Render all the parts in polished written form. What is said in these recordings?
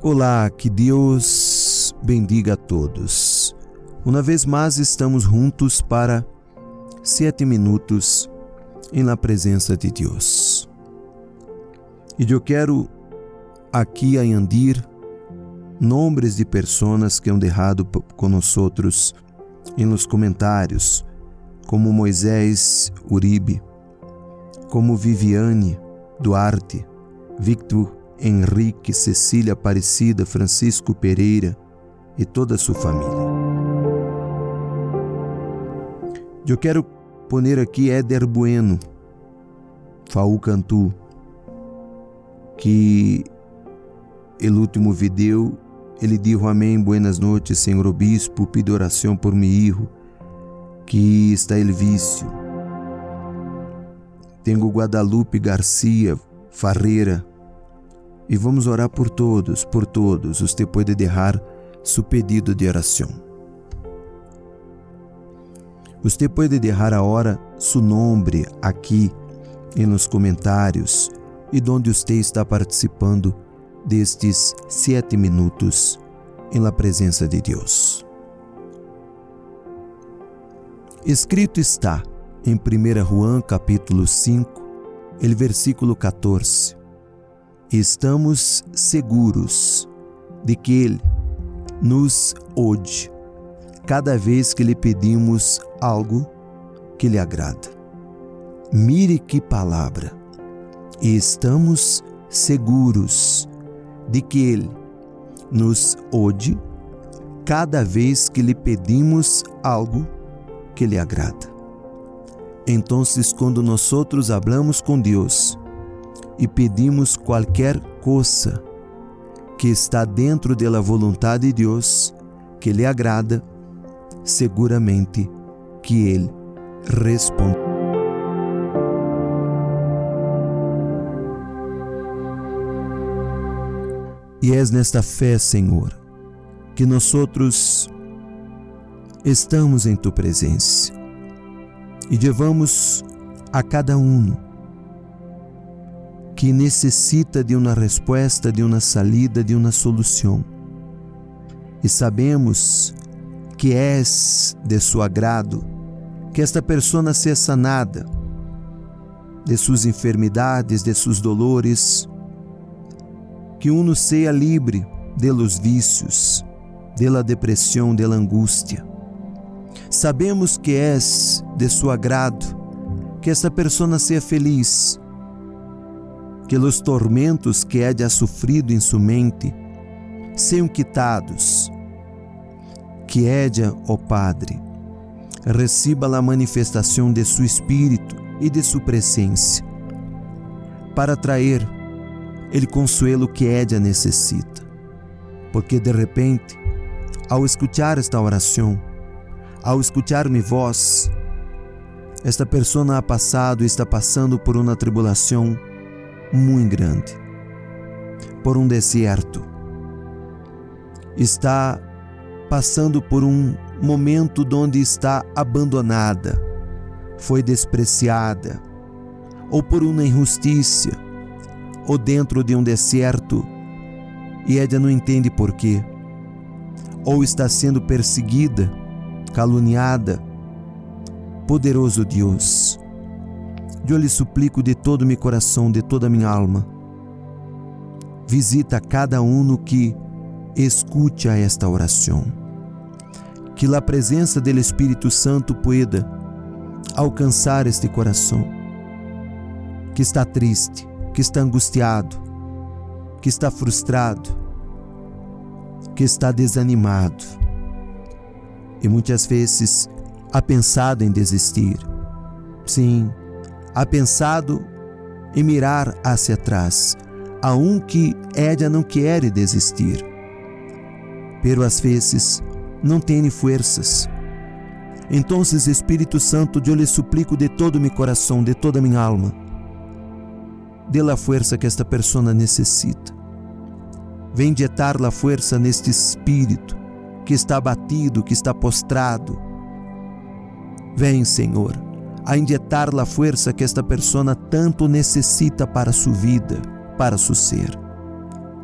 Olá, que Deus bendiga a todos. Uma vez mais estamos juntos para 7 minutos na presença de Deus. E eu quero aqui añadir nomes de pessoas que han deixado com nós nos comentários, como Moisés Uribe, como Viviane Duarte, Victor Henrique, Cecília Aparecida, Francisco Pereira e toda a sua família. Eu quero poner aqui Éder Bueno, Faú Cantu, que no último vídeo ele disse: amém, buenas noites, senhor obispo, pido oração por meu filho, que está el vício. Tenho Guadalupe Garcia Farreira, e vamos orar por todos, Você pode deixar seu pedido de oração. Você pode deixar agora seu nome aqui nos comentários e onde você está participando destes 7 minutos na presença de Deus. Escrito está em 1 João capítulo 5, versículo 14. Estamos seguros de que Ele nos ouve cada vez que lhe pedimos algo que lhe agrada. Mire que palavra! Estamos seguros de que Ele nos ouve cada vez que lhe pedimos algo que lhe agrada. Então, quando nós hablamos com Deus e pedimos qualquer coisa que está dentro da vontade de Deus, que lhe agrada, seguramente que Ele responde. E é nesta fé, Senhor, que nós estamos em Tu presença e levamos a cada que necessita de uma resposta, de uma salida, de uma solução. E sabemos que és de seu agrado que esta pessoa seja sanada de suas enfermidades, de seus dolores, que uno seja livre de los vícios, de la depressão, de la angústia. Sabemos que és de seu agrado que esta pessoa seja feliz, que os tormentos que haya sofrido em sua mente sejam quitados, que ella, ó Padre, receba a manifestação de seu Espírito e de sua presença, para trazer o consuelo que ella necessita, porque de repente, ao escutar esta oração, ao escutar minha voz, esta pessoa ha passado e está passando por uma tribulação muito grande, por deserto, está passando por momento onde está abandonada, foi despreciada, ou por uma injustiça, ou dentro de deserto, e ela não entende por quê, ou está sendo perseguida, caluniada. Poderoso Deus, eu lhe suplico de todo meu coração, de toda minha alma, visita cada que escute esta oração, que a presença do Espírito Santo pueda alcançar este coração, que está triste, que está angustiado, que está frustrado, que está desanimado, e muitas vezes ha pensado em desistir. Sim, ha pensado em mirar hacia atrás, que ella não quer desistir, pero às vezes não tem forças. Então, Espírito Santo, eu lhe suplico de todo meu coração, de toda minha alma, dê a força que esta pessoa necessita. Vem injetar a força neste espírito que está abatido, que está postrado. Vem, Senhor, a injetar a força que esta pessoa tanto necessita para sua vida, para seu ser.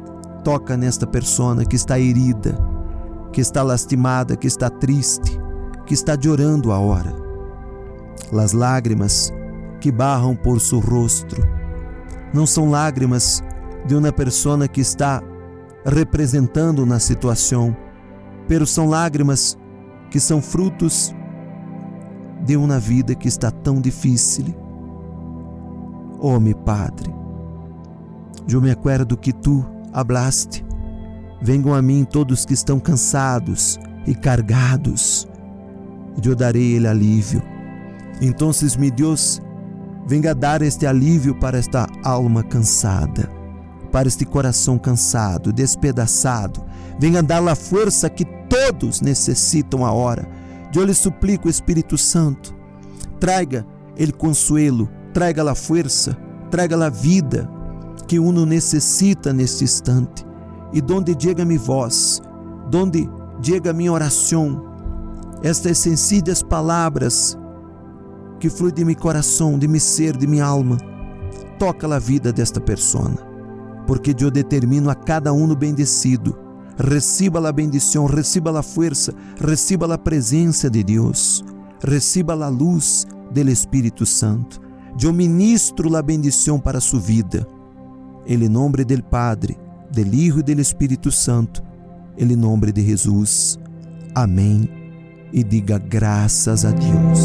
Toca nesta persona que está herida, que está lastimada, que está triste, que está llorando ahora. Las lágrimas que barram por su rostro não são lágrimas de uma pessoa que está representando uma situação, pero são lágrimas que são frutos de uma vida que está tão difícil. Oh, meu Padre, eu me acuerdo que tu hablaste: venham a mim todos que estão cansados e cargados, e eu darei ele alívio. Então, meu Deus, venga dar este alívio para esta alma cansada, para este coração cansado, despedaçado. Venha dar a força que todos necessitam agora. Eu lhe suplico, Espírito Santo, traga o consuelo, traga a força, traga a vida que uno necessita neste instante. E donde chega minha voz, donde chega minha oração, estas sencillas palavras que fluem de meu coração, de meu ser, de minha alma, toca a vida desta pessoa, porque eu determino a cada um bendecido. Reciba a bendição, reciba a força, reciba a presença de Deus, reciba a luz do Espírito Santo. Eu ministro a bendição para sua vida. Em nome do Padre, do Hijo e do Espírito Santo, em nome de Jesus. Amém. E diga graças a Deus.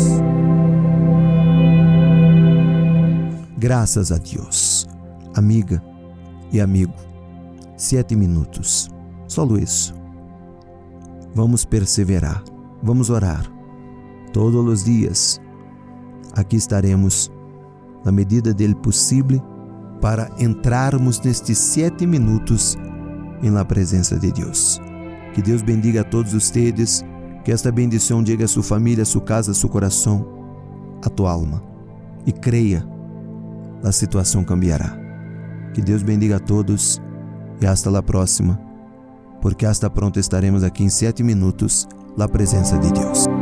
Graças a Deus. Amiga e amigo, 7 minutos. Só isso. Vamos perseverar, vamos orar. Todos os dias, aqui estaremos, na medida do possível, para entrarmos nestes 7 minutos em la presença de Deus. Que Deus bendiga a todos vocês, que esta bendição chegue a sua família, a sua casa, a seu coração, a tua alma. E creia, a situação cambiará. Que Deus bendiga a todos e hasta la próxima, porque hasta pronto estaremos aqui em 7 minutos, na presença de Deus.